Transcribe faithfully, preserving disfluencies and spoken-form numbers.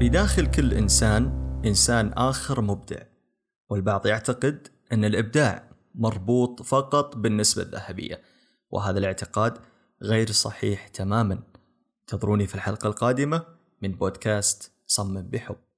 بداخل كل إنسان إنسان آخر مبدع، والبعض يعتقد أن الإبداع مربوط فقط بالنسبة الذهبية، وهذا الاعتقاد غير صحيح تماما. انتظروني في الحلقة القادمة من بودكاست صمم بحب.